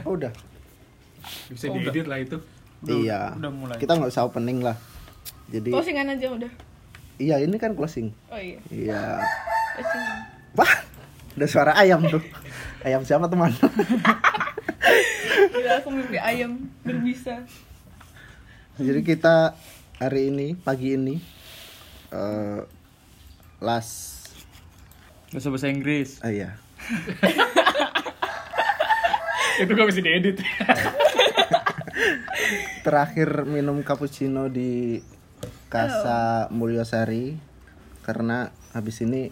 Oh, udah. Bisa diedit lah itu. Iya. Udah mulai. Kita nggak usah opening lah. Jadi. Closingan aja udah. Iya, ini kan closing. Oh iya. Iya. Closingan. Wah, ada suara ayam tuh. Ayam siapa teman? Gila, aku mimpi ayam berbisa. Jadi kita hari ini, pagi ini, bahasa Inggris. Iya. Itu gak bisa diedit. Terakhir minum cappuccino di Casa Mulyosari karena habis ini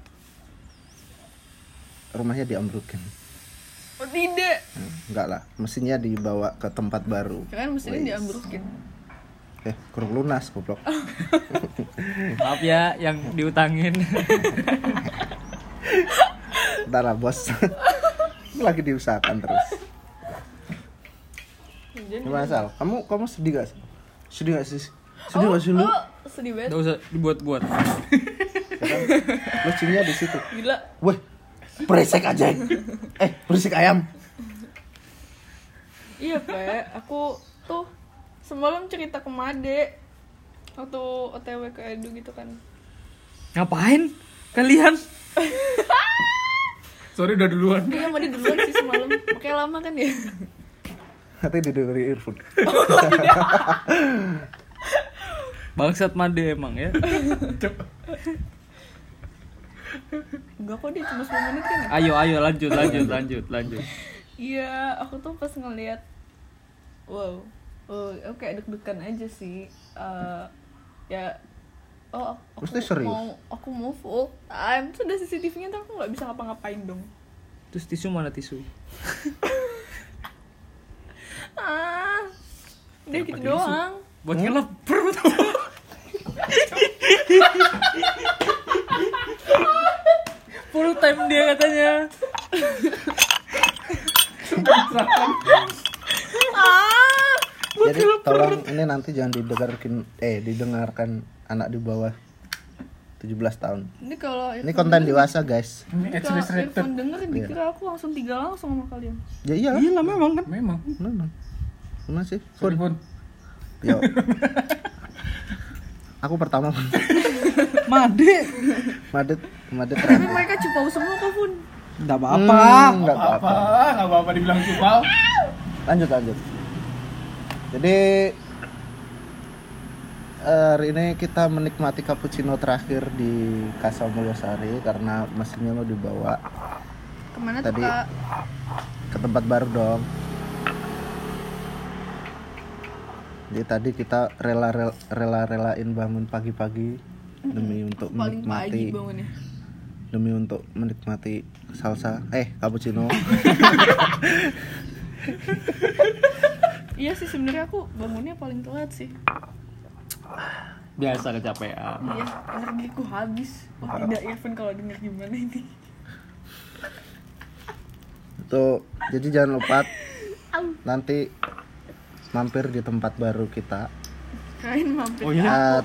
rumahnya diambrukin. Oh tidak. Enggak lah, mesinnya dibawa ke tempat baru. Kan mesinnya diambrukin. Kurang lunas goblok. Maaf ya yang diutangin. Bentar lah bos. Lagi diusahakan terus. Gimana Sal? Kamu sedih gak sih? Sedih gak sih? Sedih gak sih lu? Oh, sedih banget. Enggak usah dibuat-buat. Lucunya di situ. Gila. Weh, berisik aja. Berisik ayam. Iya, Pe. Aku tuh semalam cerita ke Made waktu OTW ke Edu gitu kan. Ngapain kalian? Sorry udah duluan. Iya, Made duluan sih semalam. Makanya lama kan ya. Katanya didengerin earphone. Bangsat Made emang ya. Enggak kok, dia cuma 10 menit kan ya? Ayo lanjut. Iya, aku tuh pas ngeliat aku kayak deg-degan aja sih. Mesti serius? Aku mau full time. Terus ada CCTV-nya tuh aku nggak bisa ngapa-ngapain dong. Terus tisu mana tisu? Udah gitu doang. Buat ngelap perut. Full time dia katanya. Jadi tolong ini nanti jangan didengarkan anak di bawah 17 tahun. Ini kalau Ini konten dewasa guys. Ini kalau X-rated. Irfan denger dikira aku langsung 3 langsung sama kalian. Ya iyalah. Iya lah memang kan. Memang. Gimana sih? Sorry, Fun. Yo. Aku pertama. Made Tapi terakhir. mereka cupau semua kok, Pun. enggak apa-apa. Enggak apa-apa. Enggak apa-apa dibilang cupal. Lanjut. Jadi hari ini kita menikmati cappuccino terakhir di Casa Mulyosari karena mesinnya mau dibawa Kemana tadi tuh, Kak? ke tempat baru dong. Jadi tadi kita relain bangun pagi-pagi demi untuk Paling pagi menikmati bangunnya. demi untuk menikmati cappuccino. Iya sih, sebenarnya aku bangunnya paling telat sih. Biasa kecapean. Iya, energiku habis. Wah, tidak Irfan kalau denger gimana ini. Jadi jangan lupa nanti mampir di tempat baru kita. Kain mampir. Oh iya.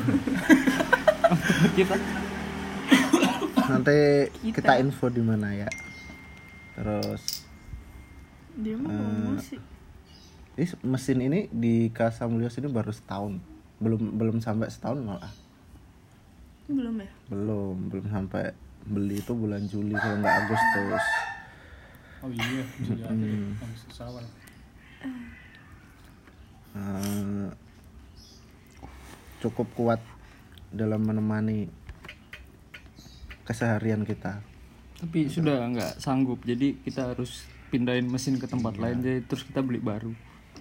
Kita Nanti kita info di mana ya. Terus Dia mah ngomong sih. mesin ini di Casa Mulyos ini baru setahun. Belum sampai setahun malah. Belum ya? Belum sampai beli itu bulan Juli kalau nggak Agustus. Oh iya, bisa jadi. Sawal. Cukup kuat dalam menemani keseharian kita. tapi sudah nggak sanggup, jadi kita harus pindahin mesin ke tempat lain, jadi terus kita beli baru.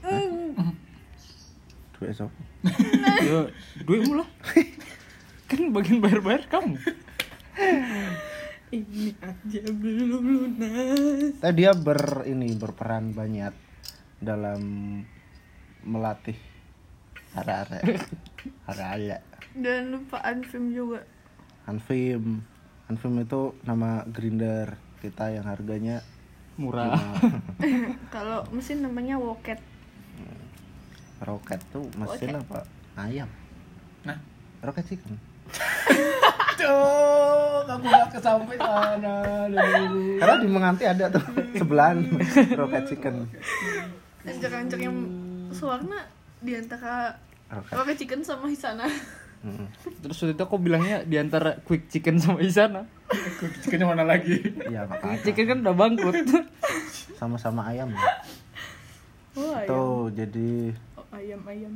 Duit esok. Ya duitmu lah. Kan bagian bayar kamu. Ini aja belum lunas. Tapi dia berperan banyak dalam melatih arek-arek. Dan lupa Anfim juga. Anfim itu nama grinder kita yang harganya Murah. Kalau mesin namanya Woket. Roket tuh mesin apa? Ayam. Nah, Roket chicken. Cuk, aku gak kesampai sana. Karena di Menganti ada tuh sebelahan Rocket Chicken. Ancak-ancak yang sewarna di antara Rocket Chicken sama Hisana. Terus waktu itu aku bilangnya di antara Quick Chicken sama Isana. Quick Chickennya mana lagi? Iya, nggak Quick apa-apa. Chicken kan udah bangkrut. Sama-sama ayam ya. Oh, ayam. Tuh, jadi Oh, ayam.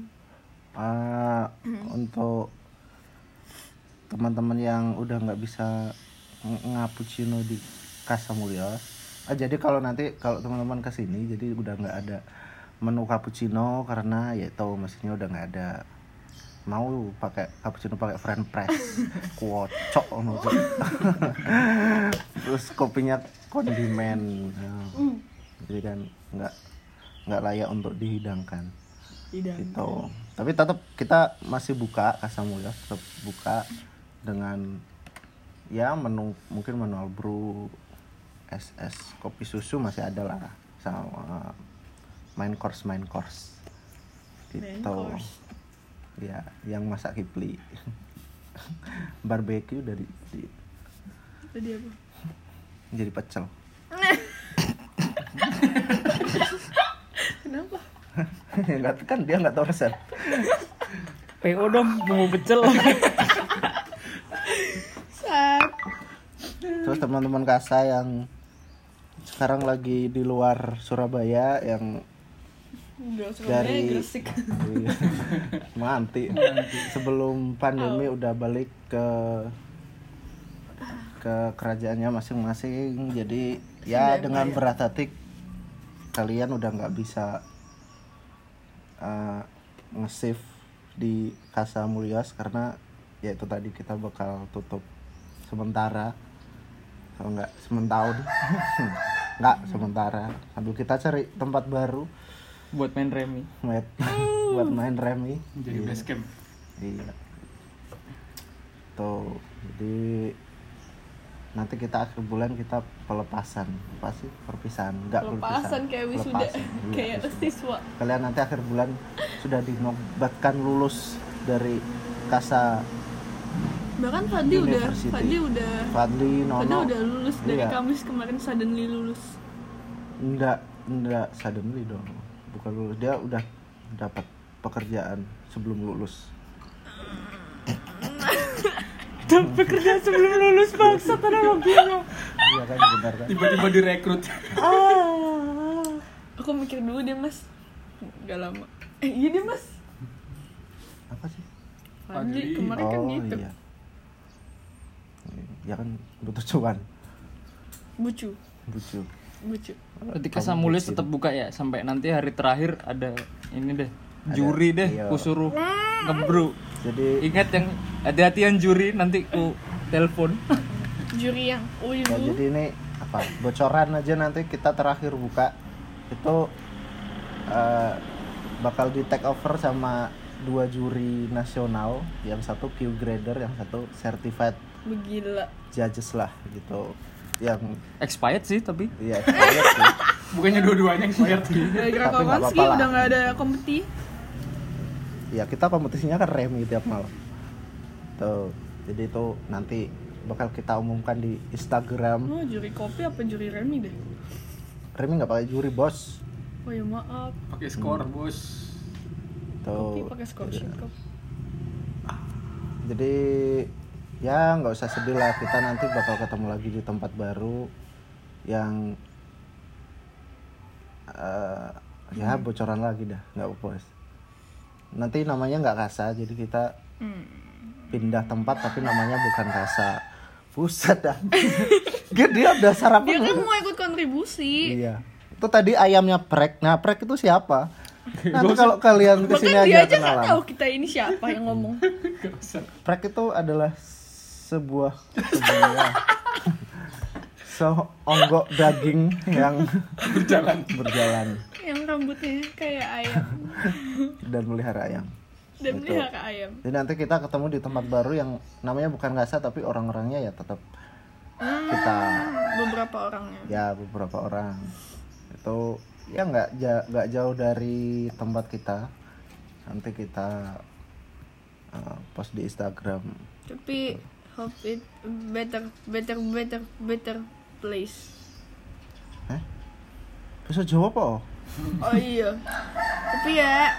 untuk teman-teman yang udah nggak bisa ngapuccino di Casa Mulya. Jadi kalau teman-teman kesini, jadi udah nggak ada menu cappuccino karena ya tahu mesinnya udah nggak ada. Mau pakai cappuccino pakai French press, kocok ono. Terus kopinya kondimen. Jadi kan nggak layak untuk dihidangkan. Gitu. Tapi tetap kita masih buka Casa Mulya, tetap buka dengan ya mungkin manual brew, SS, kopi susu masih ada lah, sama main course gitu. Ya, yang masak Kipli. Barbecue dari Tadi apa? jadi pecel. Kenapa? Enggak kan dia nggak tahu resep. PO dong mau pecel. Sat. Terus teman-teman Kasa yang sekarang lagi di luar Surabaya yang Udah Surabaya dari Gresik. Menganti sebelum pandemi udah balik ke kerajaannya masing-masing. Jadi ya dengan berat hati kalian udah nggak bisa nge-save di Casa Mulyas karena ya itu tadi kita bakal tutup sementara, kalau nggak sementahun. Nggak sementara sambil kita cari tempat baru Buat main remi. buat main remi. Jadi base camp. Iya. Tuh, jadi nanti kita akhir bulan kita pelepasan, apa sih perpisahan? Enggak Pelepasan kayak wisuda, Pelepasan, iya, kayak wisuda. siswa. Kalian nanti akhir bulan sudah dinobatkan lulus dari Casa Bahkan Fadli University. Fadli, Nono. udah lulus dari Iya. Kamis kemarin suddenly lulus. Enggak suddenly dong. Bukan lulus, dia udah dapat pekerjaan sebelum lulus. Dapat kerja sebelum lulus bangsa analoginya. Iya kan, benar kan? Tiba-tiba direkrut. Aku mikir dulu deh mas. Gak lama. Iya deh mas. Apa sih? Fadli Fadli. kemarin kan gitu. Iya. Ya kan butuh cuan, Bucu. bucu. Berarti Casa Mulya tetap buka ya sampai nanti hari terakhir ada ini deh. Ada, Juri deh, iya. ku suruh ngebrew. Jadi Ingat yang hati-hatian juri nanti ku telepon. Juri yang ya, jadi ini apa? Bocoran aja nanti kita terakhir buka itu bakal di take over sama 2 juri nasional, yang satu Q grader, yang satu certified Begila. judges lah gitu. Yang Expired sih tapi. ya expired sih. Bukannya dua-duanya expired. Gara-gara Tapi nggak Kawanski apa-apa lah. udah gak ada kompeti. Ya kita kompetisinya kan remi tiap malam. Tuh, jadi itu nanti bakal kita umumkan di Instagram. Oh juri kopi apa juri remi deh. Remi nggak pakai juri bos. Oh ya maaf. Pakai skor, Bos. Kopi Tuh. pakai scholarship cup. Jadi ya nggak usah sedih lah, kita nanti bakal ketemu lagi di tempat baru yang ya bocoran lagi dah, nggak bos. Nanti namanya nggak Kasa, jadi kita pindah tempat tapi namanya bukan Kasa. Buset dah. Dia udah sarapan. Dia kan belum? mau ikut kontribusi. Iya. Itu tadi ayamnya Prek. Nah, Prek itu siapa? Nanti kalau kalian kesini Bahkan dia aja aja nggak kenalan. tahu kita ini siapa yang ngomong. Prek itu adalah sebuah seonggok daging yang berjalan Yang rambutnya kayak ayam dan melihara ayam. dan Gitu. melihara ayam. Jadi nanti kita ketemu di tempat baru yang namanya bukan Kasa tapi orang-orangnya ya tetap kita Beberapa orangnya. ya beberapa orang itu ya nggak jauh dari tempat kita. Nanti kita post di Instagram. Tapi hope it better place. Bahasa Jawa apa? Oh iya. Tapi ya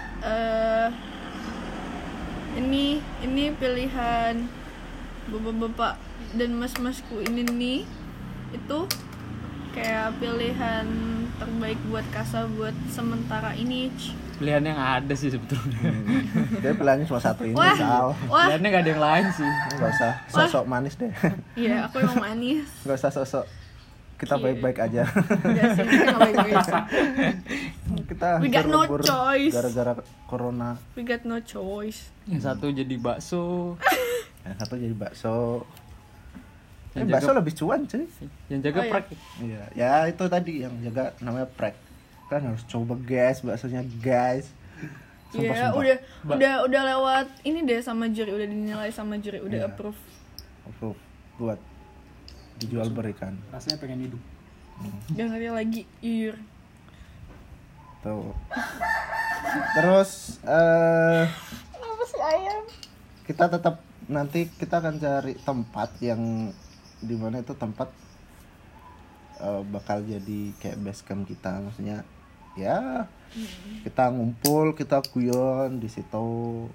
ini pilihan bapak-bapak dan mas-masku ini nih, itu kayak pilihan terbaik buat Kasa buat sementara ini. Pilihan yang ada sih sebetulnya. Dia pilihannya cuma satu ini, Wah. Sal. Wah, Pilihannya gak ada yang lain sih. Enggak usah sok-sok manis deh. iya aku emang manis. Enggak usah sok-sok kita Iya. baik-baik aja. Enggak sih, kita nggak baik-baik sih. Kita We got no berlibur choice. gara-gara corona. We got no choice. Yang satu jadi bakso, Yang satu jadi bakso. Yang Bakso jaga- lebih cuan cuy. yang jaga Oh, iya. prak. Iya, ya itu tadi yang jaga namanya prek. Kan harus coba guys, baksonya guys. Iya, udah lewat ini deh sama juri, udah dinilai sama juri, udah Iya. approve. Approve buat dijual berikan. Rasanya pengen hidup. Gak ngerti lagi, yur. Tuh. Terus Kenapa sih ayam? kita tetap nanti kita akan cari tempat yang dimana itu tempat bakal jadi kayak base camp kita, maksudnya ya kita ngumpul, kita guyon di situ.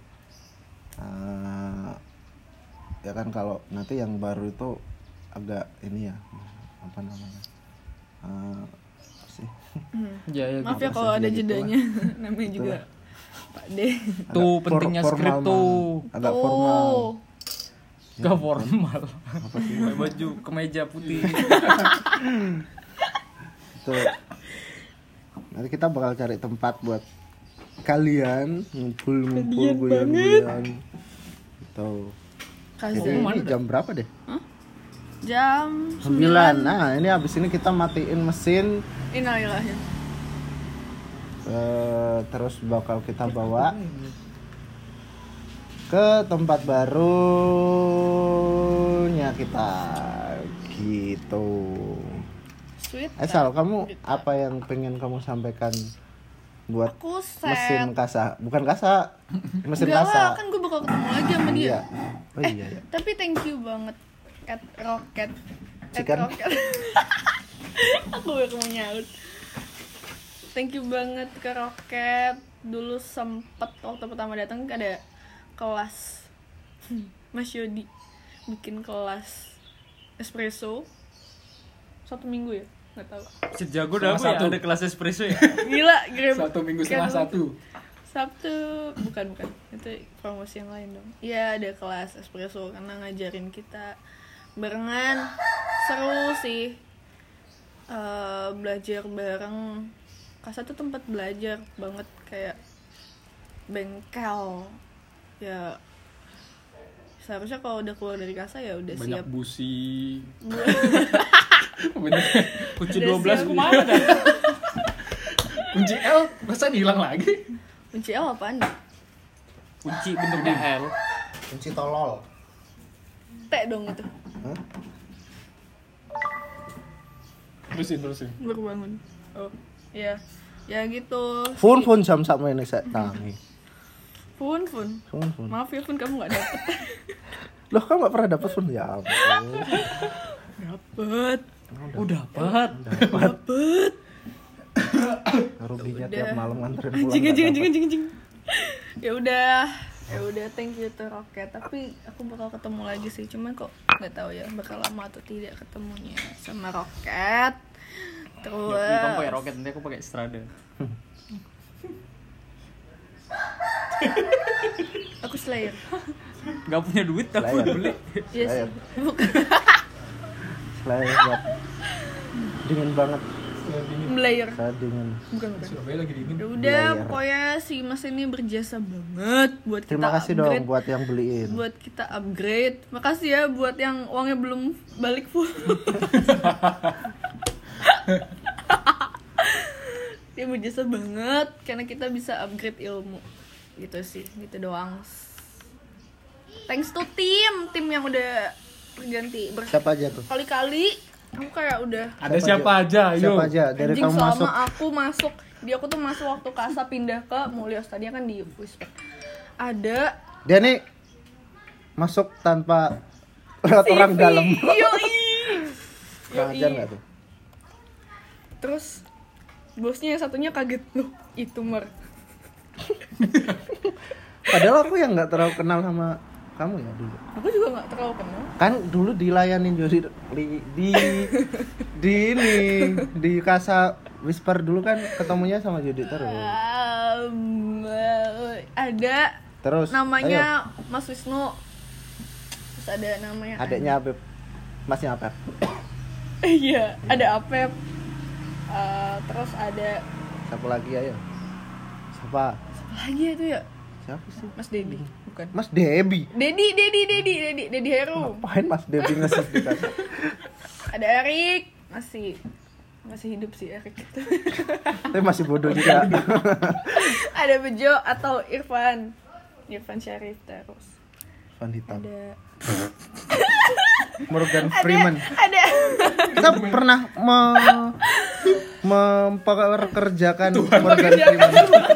Ya kan kalau nanti yang baru itu agak ini ya, apa namanya, apa sih, Ya, ya Maaf gitu. ya kalau ada gitu jedanya. Namanya juga Pak D. Tuh Agak pentingnya formal, skrip tuh. agak formal. Gak formal. Apa sih? Pakai baju kemeja putih. Itu nanti kita bakal cari tempat buat kalian ngumpul-ngumpul, guyon-guyon gitu. Jadi Kasih. ini jam berapa deh? Jam 9. Nah ini abis ini kita matiin mesin, Innalillahi. terus bakal kita bawa ke tempat barunya kita gitu. Sweet. Sal, kamu apa yang pengen kamu sampaikan buat Aku mesin set. Kasa? Bukan Kasa, mesin Enggak Kasa. lah, kan gue bakal ketemu lagi sama dia. Iya. Oh iya ya. Tapi thank you banget at Rocket. At Chicken. Rocket. Aku baru mau nyaut. Thank you banget ke Rocket. Dulu sempet waktu pertama datang ada kelas Mas Yodi bikin kelas espresso 1 minggu ya, nggak tahu. Sejago dah aku ya Satu. ada kelas espresso ya. Gila, grab. 1 minggu setengah 1. Sabtu, bukan itu promosi yang lain dong. Iya, ada kelas espresso karena ngajarin kita barengan, seru sih. Belajar bareng. Kasa tuh tempat belajar banget, kayak bengkel. Ya seharusnya kalau udah keluar dari Kasa ya udah Banyak siap. busi. Bener. Kunci Udah 12 siap. kemana dah? Kunci L masa hilang lagi? Kunci L apaan? Kunci bentuknya L. Kunci tolol. T dong itu. Hah? Terusin. Baru bangun. Oh, iya. Ya gitu. Fun jam sama ini saya tangi. Fun. Fun. Maaf ya Fun, kamu gak dapet. Loh, kamu gak pernah dapat fun ya ampun. Dapet. Oh dapat. Dapet. Ruginya Udah. tiap malam nganterin pulang. nggak dapat. Anjing. Ya udah, thank you to Rocket. Tapi aku bakal ketemu lagi sih, cuman kok nggak tahu ya bakal lama atau tidak ketemunya sama Rocket. Terus Kamu pakai roket, nanti aku pakai Strada. aku Slayer. Gak punya duit tapi Slayer. beli. Iya sih. Slayer. Bukan Selain buat dingin banget, Slayer. saya dingin. Bukan. Surabaya lagi dingin. Ya udah, Slayer. pokoknya si Mas ini berjasa banget buat kita Terima kasih upgrade. dong buat yang beliin. Buat kita upgrade. Makasih ya buat yang uangnya belum balik full. Dia berjasa banget karena kita bisa upgrade ilmu. Gitu sih, gitu doang. Thanks to tim yang udah berganti Siapa aja tuh? berkali-kali. Aku kayak udah Ada siapa aja? Ayo. Siapa aja dari anjing kamu selama masuk? aku masuk. Aku tuh masuk waktu Kasa pindah ke Mulyos. Tadinya kan di Whisper. Ada Dia nih masuk tanpa Lewat orang dalam. Yoi. Kurang ajar nggak tuh? Terus bosnya yang satunya kaget, loh itu Mar. Padahal aku yang nggak terlalu kenal sama kamu ya dulu. Aku juga nggak terlalu kenal. Kan dulu dilayanin Jody di ini di Kasa Whisper dulu kan ketemunya sama Jody terus. Ada Terus namanya Mas Wisnu. Terus ada namanya adiknya Apep. Masnya Apep. iya, ada Apep. Terus ada Siapa lagi ayo? Siapa? siapa lagi itu ya? Siapa sih? Mas Dedi, bukan. Mas Debi. Dedi Heru. Ngapain Mas Debi nge-save di Kasa? Ada Erik, masih hidup sih Erik. Tapi masih bodoh juga. Ada Bejo atau Irfan Syarif terus. Van hitam. Ada Morgan Freeman. ada Kita pernah mempekerjakan Morgan Freeman.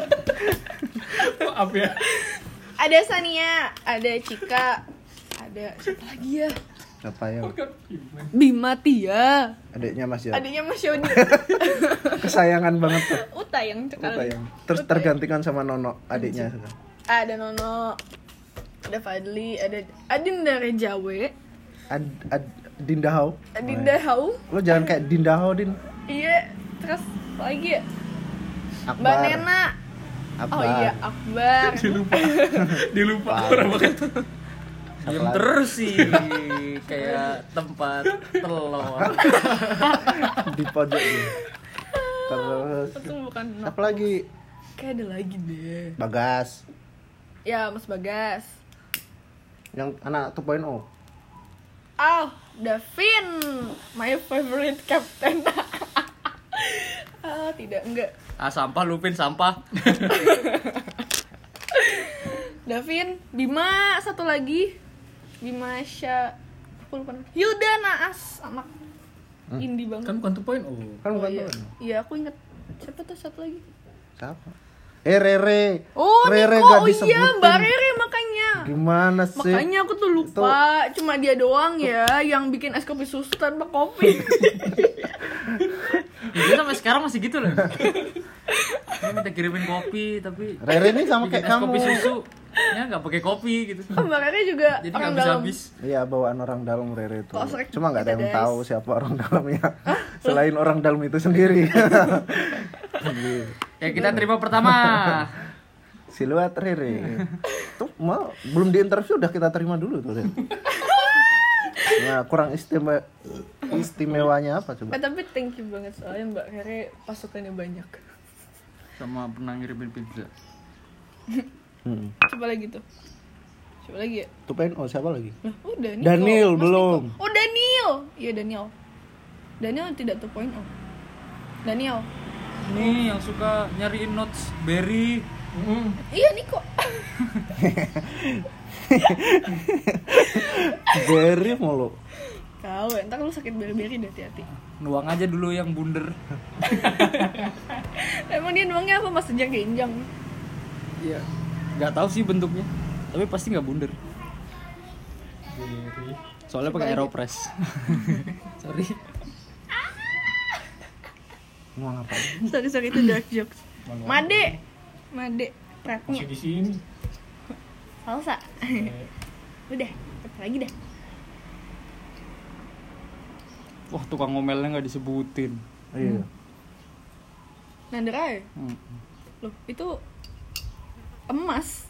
Maaf ya. ada Sania, ada Cika, ada siapa lagi ya? Siapa ya? Bima Tia, Adiknya Mas ya. adiknya Mas Yodi. Kesayangan banget tuh. Utayang sekali. Utayang. Terus tergantikan sama Nono adiknya. Ada Nono, ada Fadli, ada Adinda Rejawe, Dinda Hau. Adinda Hau. Lo jangan kayak Dinda Hau, Din. Iya, terus apa lagi ya? Akbar. Mbak Nena. Akbar. Oh iya, Akbar. Dilupa orang banget. Diem terus sih kayak tempat telur. Di pojok nih. Terus Untung bukan apa lagi? Kayak ada lagi deh. Bagas. Ya, Mas Bagas. Yang anak 2.0. Oh, Davin, my favorite captain. Enggak. Sampah Lupin sampah. Davin, Bima, satu lagi. Bima aku lupa namanya. Hilda Naas, anak indie banget. Kan bukan 2.0. Kan bukan iya. 2.0. Iya, aku inget. Siapa tuh satu lagi? Siapa? Rere. Oh, Rere Niko. gak Oh disebutin. iya, Mbak Rere makanya. Gimana sih? Makanya aku tuh lupa. Cuma dia doang ya yang bikin es kopi susu tanpa kopi. Dia sampai sekarang masih gitu loh. Dia minta kirimin kopi tapi Rere ini sama bikin kayak es kamu. kopi susu. Ya nggak pakai kopi gitu. Mbak Rere juga Jadi orang nggak dalam. habis. Iya, bawaan orang dalam Rere itu. Kok sering Cuma nggak ada kita yang guys. tahu siapa orang dalamnya. Selain orang dalam itu sendiri. Ya kita terima pertama. Siluet Rere. Tuh mau belum diinterview udah kita terima dulu tuh. Ren. Nah, kurang istimewanya apa coba? Tapi thank you banget soalnya Mbak Rere pasukannya banyak. Sama pernah ngirimin pizza. Coba lagi tuh. Coba lagi ya. 2.0 siapa lagi? Lah, udah Niko. Daniel Mas belum. Niko. Oh, Daniel. Iya, Daniel. Daniel tidak 2.0. Daniel. Nih yang suka nyariin notes Berry. Iya, Niko. Jerry mulu. Kau, entar lu sakit beri-beri deh, hati-hati. Nuang aja dulu yang bunder. Emang dia nuangnya apa? Mas sejak genjang. Iya. Nggak tahu sih bentuknya. Tapi pasti nggak bunder. Soalnya pakai Aeropress. Sorry. Mau ngapain? Sorry itu dark jokes. Made prepnya. Masih di sini. Salsa. Udah, apa lagi dah? Wah, tukang ngomelnya nggak disebutin. Iya. Nandera ya? Loh, itu emas.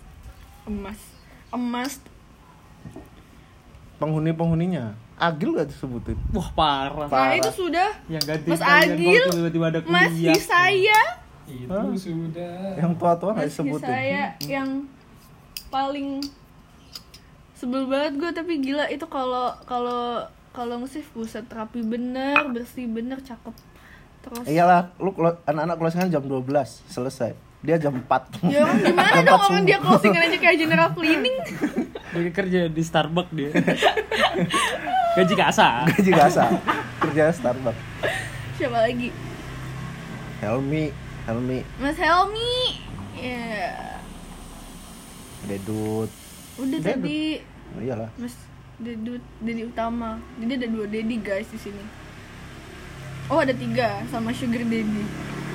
Penghuni-penghuninya Agil gak disebutin. Wah, parah. Nah, itu sudah Yang ganti Mas kalian Agil, waktu tiba-tiba ada Mas kuliah. Hisaya, Itu sudah. Yang tua-tua gak Mas disebutin. Hisaya yang paling sebel banget gue, tapi gila itu kalau nge-save buset rapi bener, bersih bener, cakep. Terus Iyalah, lu anak-anak closingan jam 12 selesai. Dia jam 4. ya orang gimana Jam dong 4 orang dia closingan aja kayak general cleaning. Dia kerja di Starbucks dia. Gaji kasar. Gaji kasar. Kerja Starbucks. Siapa lagi? Helmi. Mas Helmi. Ya. Dedut. Udah Dedut. tadi Oh, iyalah. Mas Dedi utama. Jadi ada 2 Dedi guys di sini. Oh ada 3 sama Sugar Daddy.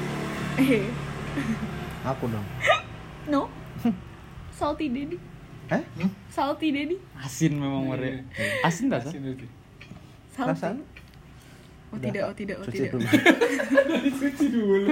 Aku dong. No. Salty Daddy. Salty Daddy. Asin memang mereka. Asin tak sih? Salty. Perasaan? Oh tidak. Cuci dulu. Cuci dulu.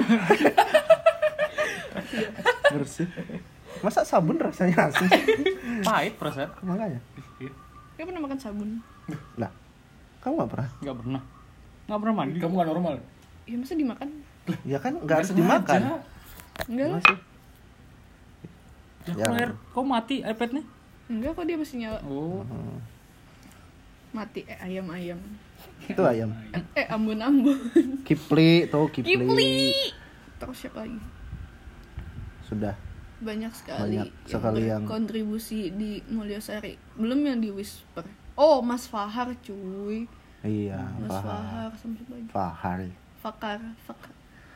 Bersih. Masa sabun rasanya asin sih? Pahit perasaan. Makanya. Gak pernah makan sabun. Lah, kamu gak pernah? Nggak pernah mandi. Kamu gak normal. Ya masa dimakan? Ya kan gak harus dimakan. Enggak lah. Masih. Ya, Ya. kok mati iPadnya? Enggak kok, dia masih nyala. Oh. Mati ayam-ayam. Itu ayam. Ambon-ambon. Kipli tuh, Kipli. Terus siapa lagi? Sudah. Banyak sekali, yang kontribusi di Mulyasari. Belum yang di Whisper. Oh, Mas Fahar cuy. Iya, Mas Fahar sampai lagi. Fahar. Fakar.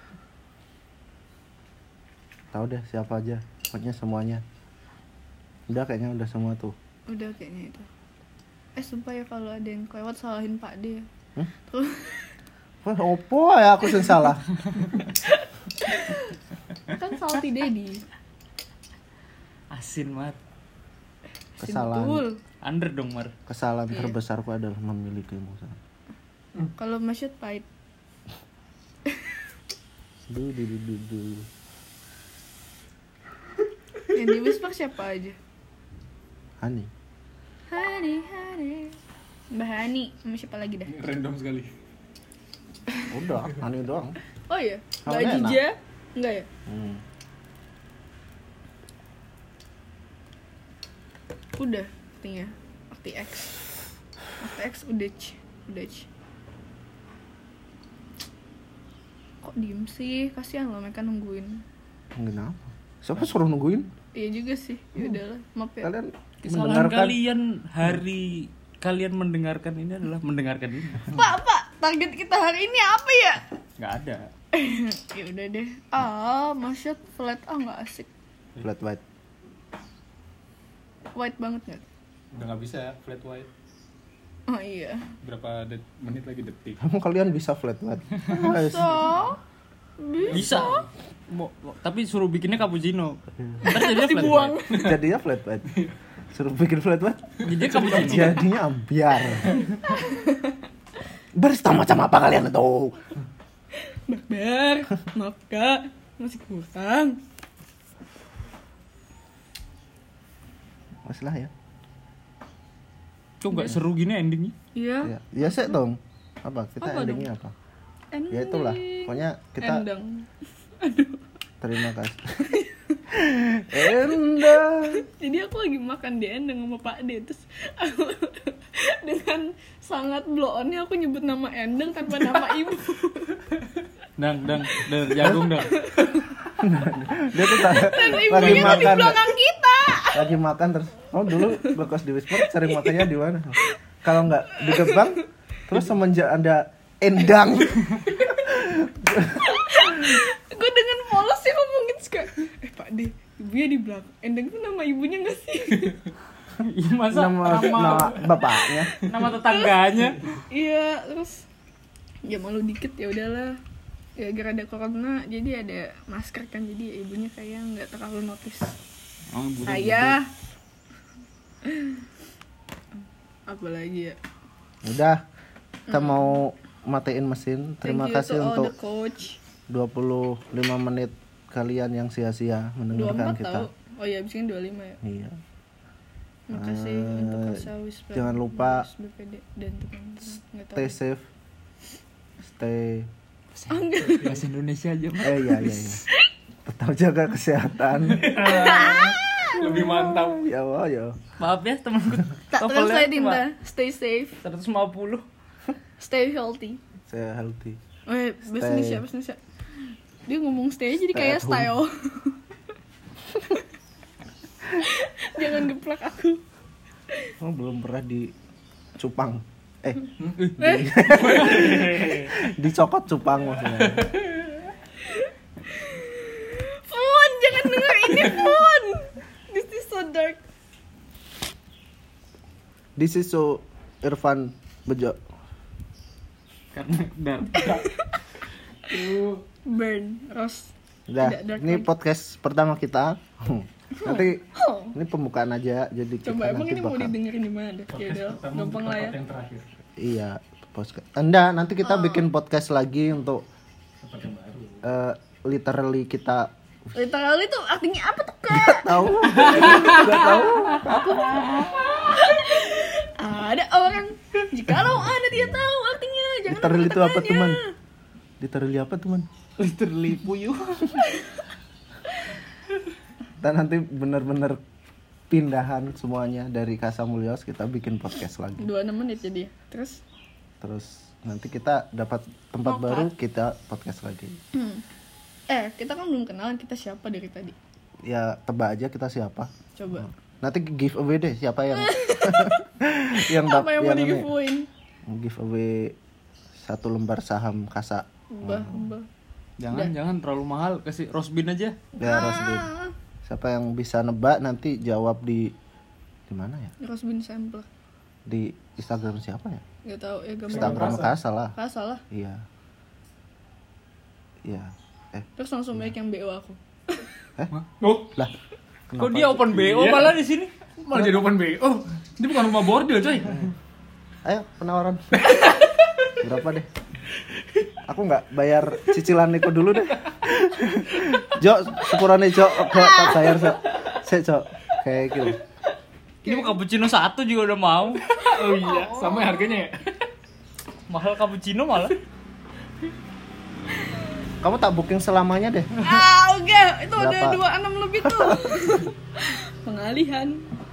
Tahu deh siapa aja. Pokoknya semuanya. Udah kayaknya udah semua tuh. Udah kayaknya itu. Sumpah ya kalau ada yang kelewat salahin Pak D ya. Terus Wah, opo ya aku yang salah. kan Salty Daddy. Asin banget. Kesalahan. Betul. Under dong Mar. Kesalahan Iya. terbesarku adalah memilikimu. Kalau Masyad pahit. Du. Yang di Whisper siapa aja? Hani. Hani. Mbak Hani sama siapa lagi dah? Ini random sekali. Udah, Hani doang. Oh iya, Mbak Hamilnya enak. Jija? Enggak ya? Udah, artinya RTX udah. Kok diem sih? Kasihan loh mereka nungguin. Kenapa? Siapa suruh nungguin? Iya juga sih. Ya udahlah, maaf ya. Kalian Kesalahan mendengarkan kalian kalian mendengarkan ini adalah mendengarkan ini. Pak, target kita hari ini apa ya? Nggak ada. Ya udah deh. Masyad flat nggak asik. flat white. White banget nggak? Udah gak bisa ya, flat white. Oh iya. Berapa menit lagi detik. Kamu kalian bisa flat white? So, Bisa. Tapi suruh bikinnya cappuccino. Ntar jadinya flat dibuang. white. Jadinya flat white. Suruh bikin flat white. Jadinya cappuccino. Jadinya ambiar. Barista macam apa kalian itu? Barbar, maaf kak, masih kurang. Masalah ya. Kok nggak seru gini endingnya? Iya. Ya sih dong. Apa? Kita Apa endingnya apa? Ending. Ya itulah. Pokoknya kita Endang. terima kasih. Endang. Jadi aku lagi makan di Endang sama Pak D, terus aku, dengan sangat blow on-nya aku nyebut nama Endang tanpa nama ibu. Dang, jagung dang. Dia tuh Dan lagi ibunya tuh di makan. belakang kita. Lagi makan terus. Oh dulu bekos di Whisper sering makannya di mana? Kalau nggak di Gebang, terus semenjak ada Endang. Gue dengan polos sih ngomong gitu suka. Pak D, ibunya di belakang. Endang itu nama ibunya nggak sih? Iya masa nama bapaknya. nama tetangganya. Iya, terus ya malu dikit ya udahlah. Ya gara ada corona jadi ada masker kan, jadi ibunya kayak nggak terlalu notice. Oh, Saya apa lagi ya? Udah, kita mau matiin mesin. Terima Thank you kasih to all untuk the coach. 25 menit kalian yang sia-sia mendengarkan 24 kita. tahu. Oh iya, abis ini 25 ya. Iya. Makasih untuk Kasa Whisper. jangan lupa BPD dan teman-teman. Nggak tahu. Stay safe. Stay. Bahasa Indonesia aja Mar. Iya. Tetap jaga kesehatan. Lebih mantap. Ya Allah ya. Maaf ya temanku. Tak translate Dinda. Stay safe. 150. Stay healthy. Saya healthy. Bahasa Indonesia. Dia ngomong stay jadi Stay kayak at home. style. Jangan geplak aku. Oh, belum pernah di cupang. Dicokot cupang maksudnya. Fun, jangan denger ini Fun. This is so dark. This is so Irfan Bejo. Karena dark. Burn Rose. Udah, Tidak dark ini lagi. podcast pertama kita. Nanti ini pembukaan aja, jadi kita Coba emang nanti ini mau bakal. didengerin di mana? Ya udah, gampang lah ya. Yang terakhir. Iya, podcast. Nanti kita bikin podcast lagi untuk Tempat yang baru. literally kita Literally tuh artinya apa tuh Kak? tahu. Enggak tahu. Ada orang jikalau Anda tidak tahu artinya jangan Literally itu apa, bertanya. teman? Literally apa, teman? Literally puyuh. Kita nanti bener-bener pindahan semuanya dari Casa Mulyos, kita bikin podcast lagi. 26 menit jadi. Terus Nanti kita dapat tempat baru, kita podcast lagi. kita kan belum kenalan kita siapa dari tadi. Ya tebak aja kita siapa. Coba. Nanti giveaway deh siapa yang Apa yang mau ini, di-giveawayin? giveaway 1 lembar saham Kasa. Mbah. Jangan terlalu mahal, kasih Rosbin aja. Ya Rosbin. Siapa yang bisa nebak nanti jawab di mana ya? Rosbin sampler. Di Instagram siapa ya? Gak tahu ya gambar. Instagram Kasa lah. Salah. Iya. Iya. Terus langsung banyak yang BO aku. Oh, Lah. Kok dia open BO Iya. malah di sini? malah jadi open BO. Oh, ini bukan rumah bordil, coy. Ayo penawaran. Berapa deh? Aku nggak bayar cicilan Niko dulu deh. Jok, sepurane Jok, tak bayar Jok. Jok, kayak gitu. Ini mau cappuccino 1 juga udah mau. Oh iya, sama harganya ya. Mahal cappuccino malah. Kamu tak booking selamanya deh. Oke, itu Berapa? udah 26 lebih tuh. Pengalihan.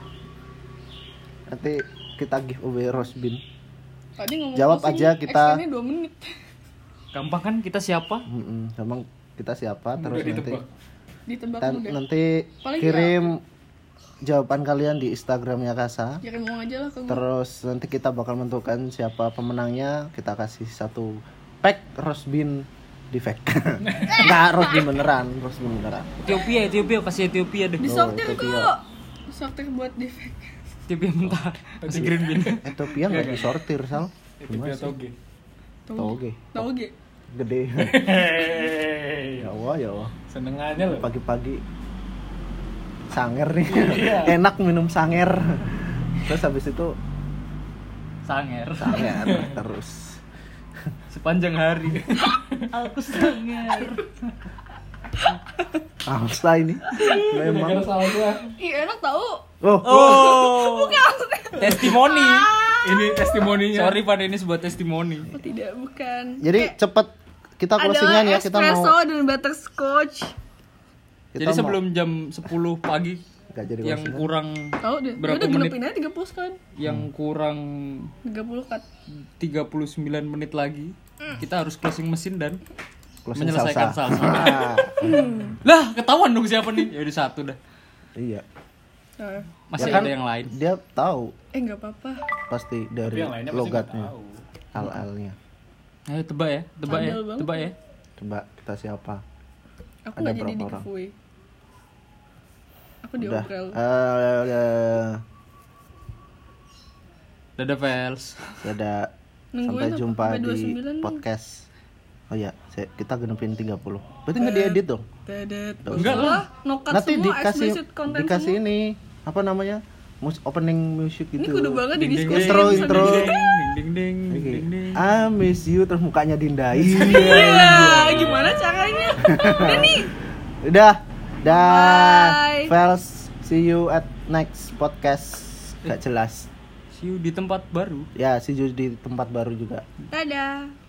Nanti kita giveaway Rosbin. Tadi ngomong Jawab apa sih? aja kita. Extendnya 2 menit. Gampang kan kita siapa? Emang kita siapa? Terus Udah nanti ditebak. Ditebak mudah. nanti Paling kirim jawaban kalian di Instagramnya Kasa. Kirim uang aja lah ke gue. Terus nanti kita bakal menentukan siapa pemenangnya. Kita kasih 1 pack Rosbin di fake. Enggak, Rosbin beneran. Ethiopia kasih Ethiopia deh. Disortir itu kok. Disortir buat defek. Ethiopia mentah. Kasih green bean. Ethiopia nggak disortir Sal. Ethiopia toge. Toge. Toge. Gede. Hehehe. Ya Allah. Senengannya loh. Pagi-pagi sanger nih. Enak minum sanger. Terus habis itu Sanger. sanger terus. Sepanjang hari. Aku sanger. Angsa ini. Memang. Salah gua. Ih, enak tahu. Oh. Testimoni. Ini testimoninya. Sorry Pak, ini sebuah testimoni. Oh, tidak, bukan. Jadi cepet kita closingan ya, kita espresso mau dan butterscotch. Jadi sebelum jam 10 pagi nggak jadi yang closingan. kurang Tahu deh. Berapa Udah menit? genepin aja 30 sekali. yang kurang 30 cut. 39 menit lagi kita harus closing mesin dan Closing menyelesaikan salsa. salsa. Lah, ketahuan dong siapa nih? Ya udah 1 dah. Iya. Nah, Masih Ya kan? ada yang lain. Dia tahu enggak apa-apa. pasti Tapi dari yang lainnya pasti nggak logatnya, tahu. al-alnya. Ayo tebak ya, Bandel banget. tebak ya. Coba kita siapa? Aku Ada enggak jadi berapa di orang? giveaway. Aku Udah. diobrol. Dadah Pels. Dadah. Nungguin Sampai apa? jumpa Sampai di 29 nih. podcast. Oh iya, kita genepin 30. Berarti nggak diedit dong? Dedet. Enggak lah. Nokat Nanti semua, dikasih explicit content dikasih semua. ini apa namanya? Opening music Ini gitu. kudu banget di Ding, ding, diskusi. Intro, bisa intro. di- Ding ding Oke. ding ding. I miss you terus mukanya Dinda. Iya. Iya, gimana caranya? Udah nih. Udah. Dah. Bye. Fels, see you at next podcast. Gak jelas. See you di tempat baru. Ya, see you di tempat baru juga. Dadah.